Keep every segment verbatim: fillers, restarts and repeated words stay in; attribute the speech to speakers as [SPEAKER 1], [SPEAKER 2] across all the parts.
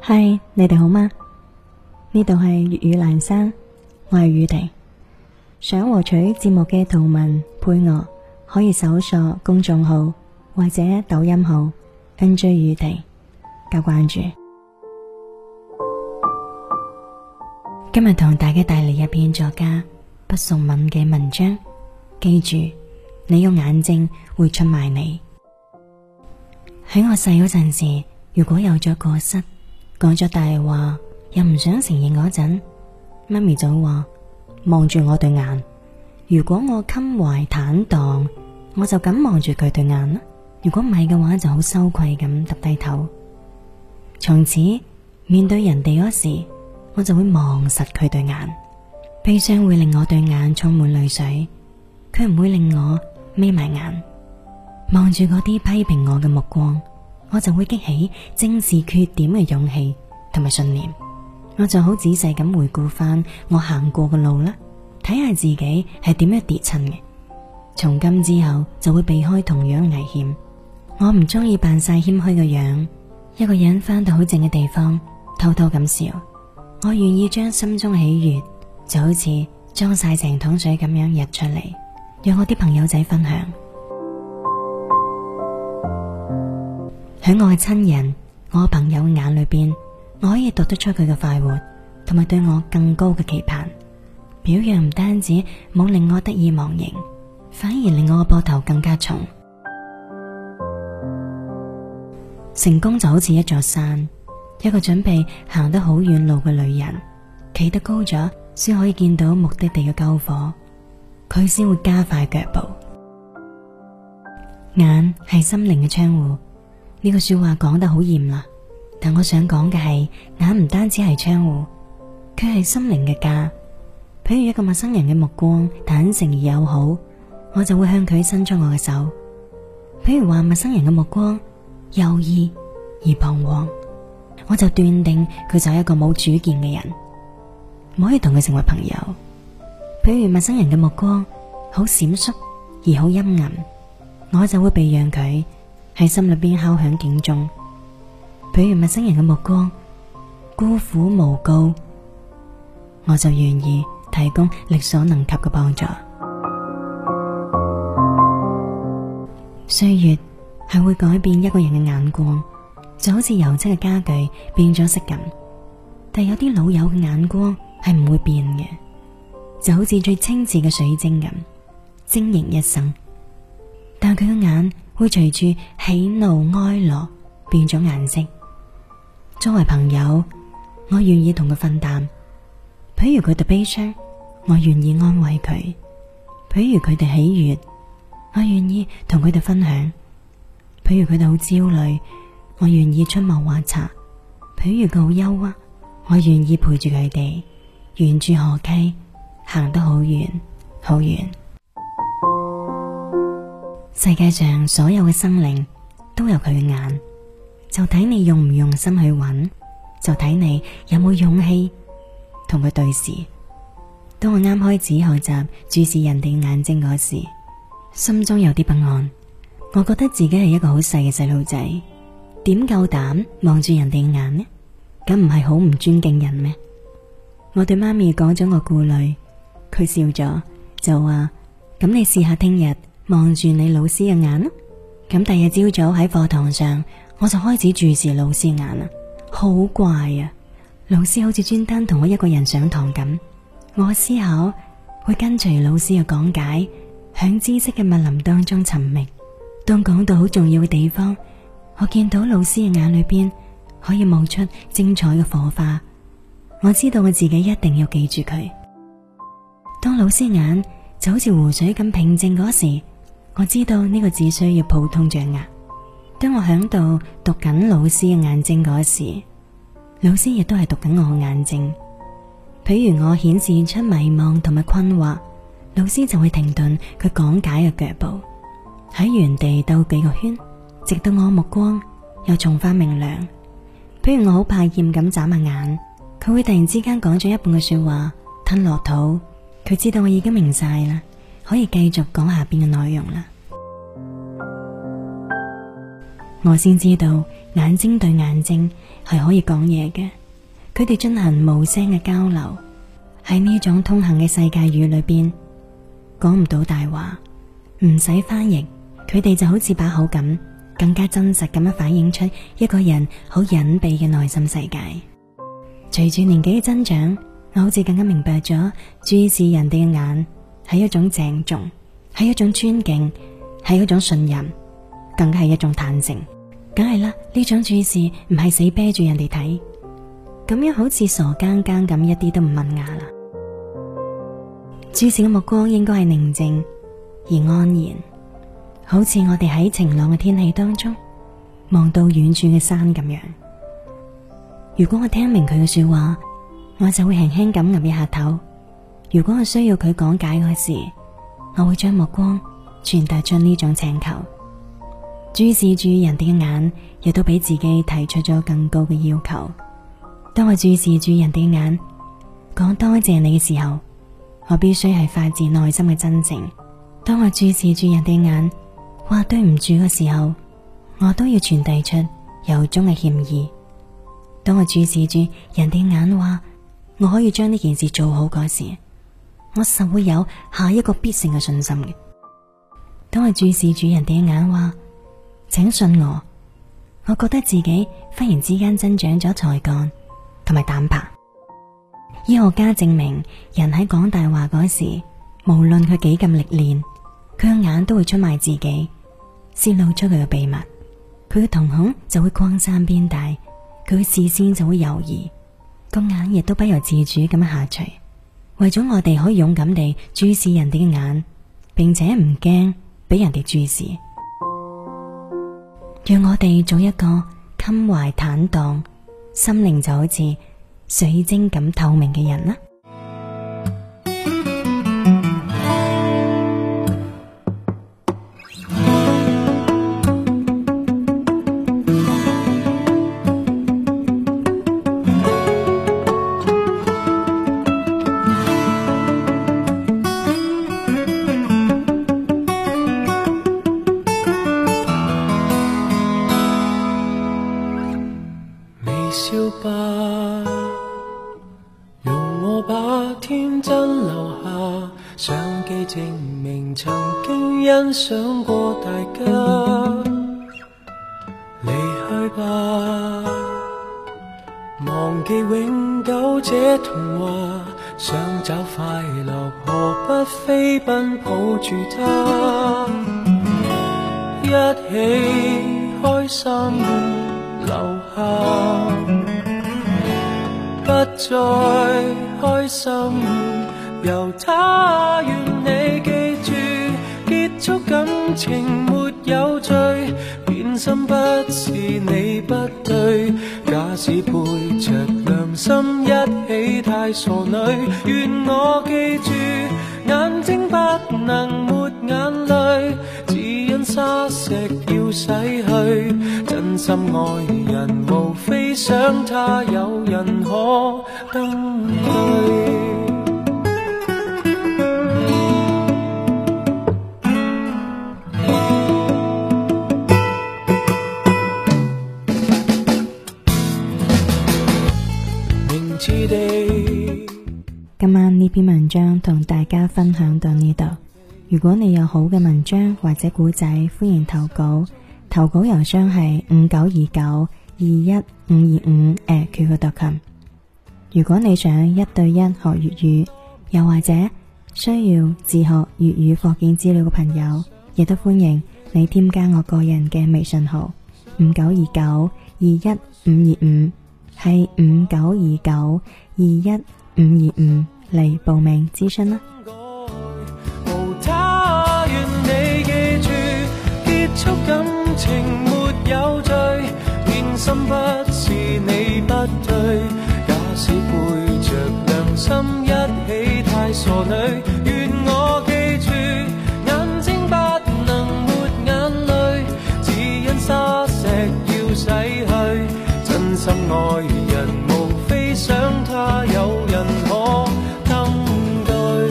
[SPEAKER 1] 嗨，Hi，你哋好嗎？呢度係粵語闌珊，我係宇婷。想獲取節目嘅圖文配樂，可以搜索公眾號或者抖音號 N J 宇婷加關注。今日同大家帶嚟一篇作家畢淑敏嘅文章，記住，你用眼睛會出賣你。喺我細嗰陣時，如果有咗過失，講咗大話又唔想承認嗰陣，媽咪就話望住我對眼，如果我襟懷坦蕩，我就咁望住佢對眼啦，如果唔係嘅話就好羞愧咁耷低頭。從此面對人哋嗰時，我就會望實佢對眼，悲傷會令我對眼充滿淚水，佢唔會令我眯埋眼。望住嗰啲批評我嘅目光，我就會激起正視缺點嘅勇氣同埋信念。我就好仔細咁回顧翻我行過嘅路啦，睇下自己係點樣跌親嘅。從今之後就會避開同樣危險。我唔中意扮晒謙虛嘅樣，一個人翻到好靜嘅地方偷偷咁笑。我願意將心中喜悅就好似裝晒成桶水咁樣溢出嚟，讓我啲朋友仔分享。喺我嘅親人、我嘅朋友眼裏邊，我可以讀得出佢嘅快活，同埋對我更高嘅期盼。表揚唔單止冇令我得意忘形，反而令我嘅膊頭更加重。成功就好似一座山，一個準備行得好遠路嘅旅人，企得高咗先可以見到目的地嘅篝火，佢先會加快腳步。眼係心靈嘅窗戶，呢個說話講得好嚴啦，但我想講嘅係，眼唔單止係窗戶，佢係心靈嘅家。譬如一個陌生人嘅目光坦誠而友好，我就會向佢伸出我嘅手。譬如話陌生人嘅目光猶豫而彷徨，我就斷定佢就係一個冇主見嘅人，唔可以同佢成為朋友。譬如陌生人嘅目光好閃爍而好陰暗，我就會避讓佢喺心裏邊敲響警鐘。譬如陌生人嘅目光孤苦無告，我就願意提供力所能及嘅幫助。歲月係會改變一個人嘅眼光，就好似油漆嘅家具變咗色咁，但有啲老友嘅眼光係唔會變嘅，就好似最清澈嘅水晶咁，晶瑩一生。但佢嘅眼會隨住喜怒哀樂變咗顏色。作為朋友，我願意同佢分擔。譬如佢哋悲傷，我願意安慰佢；譬如佢哋喜悅，我願意同佢哋分享；譬如佢哋好焦慮，我願意出謀劃策；譬如佢好憂鬱，我願意陪住佢哋沿住河溪行得好遠好遠。世界上所有嘅生靈都有佢嘅眼，就睇你用唔用心去揾，就睇你有冇勇氣同佢對視。當我啱開始學習注視人哋眼睛嗰時，心中有啲不安。我覺得自己係一個好細嘅細路仔，點夠膽望住人哋嘅眼呢？咁唔係好唔尊敬人咩？我對媽咪講咗我顧慮，佢笑咗就話：咁你試下聽日望住你老師嘅眼啦。咁第二日朝早喺課堂上，我就開始注視老師眼啦。好怪啊！老師好似專登同我一個人上堂咁，我嘅思考會跟隨老師嘅講解，響知識嘅密林當中尋覓。當講到好重要嘅地方，我見到老師嘅眼裏邊可以冒出精彩嘅火花，我知道我自己一定要記住佢。當老師眼就好似湖水咁平靜嗰時，我知道呢個只需要普通掌握。當我響度讀緊老師嘅眼睛嗰時，老師亦都係讀緊我嘅眼睛。譬如我顯示出迷茫同埋困惑，老師就會停頓佢講解嘅腳步，喺原地兜幾個圈，直到我目光又重返明亮。譬如我好怕厭咁眨下眼，佢會突然之間講咗一半嘅說話吞落肚，佢知道我已經明晒啦，可以繼續講下邊嘅內容啦。 我先知道眼睛對眼睛係可以講嘢嘅，佢哋進行無聲嘅交流。喺呢種通行嘅世界語裏邊，講唔到大話，唔使翻譯，佢哋就好似把口咁，更加真實咁樣反映出一個人好隱秘嘅內心世界。隨住年紀嘅增長，我好似更加明白咗，注視人哋嘅眼係一種鄭重，係一種尊敬，係一種信任，更加係一種坦誠。梗係啦，呢種注視唔係死啤住人哋睇，咁樣好似傻更更咁，一啲都唔文雅啦。注視嘅目光應該係寧靜而安然，好似我哋喺晴朗嘅天氣當中望到遠處嘅山咁樣。如果我聽明佢嘅說話，我就會輕輕咁岌一下頭；如果我需要佢講解嗰時，我會將目光傳達出呢種請求。注視住人哋嘅眼，亦都俾自己提出咗更高嘅要求。當我注視住人哋嘅眼，講多謝你嘅時候，我必須係發自內心嘅真誠。當我注視住人哋眼，話對唔住嘅時候，我都要傳遞出由衷嘅歉意。當我注視住人哋眼，話我可以將呢件事做好嗰時，我實會有下一個必勝嘅信心嘅。當我注視住人哋嘅眼，話請信我，我覺得自己忽然之間增長咗才幹同埋膽魄。醫學家證明，人喺講大話嗰時，無論佢幾咁歷練，佢嘅眼都會出賣自己，洩露出佢嘅秘密，佢嘅瞳孔就會擴散變大，佢嘅視線就會游移，個眼亦都不由自主咁樣下垂。為咗我哋可以勇敢地注視人哋嘅眼，並且唔驚俾人哋注視，讓我哋做一個襟懷坦蕩、心靈就好似水晶咁透明嘅人啦。
[SPEAKER 2] 笑吧，容我把天真留下，相機證明曾經欣賞過大家。離去吧，忘記永久這童話，想找快樂何不飛奔抱住它，一起開心留下，不再開心由他。願你記住，結束感情沒有罪，變心不是你不對，假使背着良心一起太傻女。願我記住，眼睛不能沒眼淚，只因沙石要洗去，真心愛人無非想他有人可登對。明知地
[SPEAKER 1] 今晚呢篇文章同大家分享到呢度。如果你有好嘅文章或者古仔，歡迎投稿。投稿郵箱係五九二九二一五二五 at Q Q 點 com。如果你想一對一學粵語，又或者需要自學粵語課件資料嘅朋友，亦都歡迎你添加我個人嘅微信號五九二九二一五二五，係五九二九二一五二五嚟報名諮詢啦。
[SPEAKER 2] 無他，願你記住，結束感情沒有罪，變心不是你不對，假使背着良心一起太傻女。願我記住，眼睛不能沒眼淚，只因沙石要洗去，真心愛人無非想他有人可登對。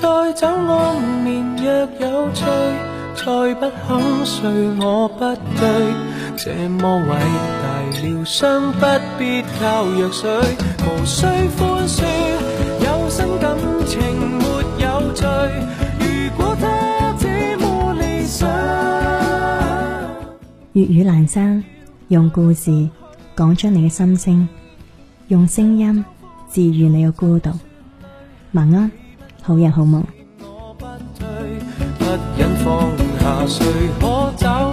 [SPEAKER 2] 再找安眠若有趣，再不肯睡我不對，這麼偉大療傷不必靠藥水，無需寬恕，有新感情沒有罪，如果他這麼理想。
[SPEAKER 1] 粵語闌珊，用故事講出你嘅心聲，用聲音治愈你嘅孤獨。晚安，好人好夢。
[SPEAKER 2] 我不退，不忍放下，誰可找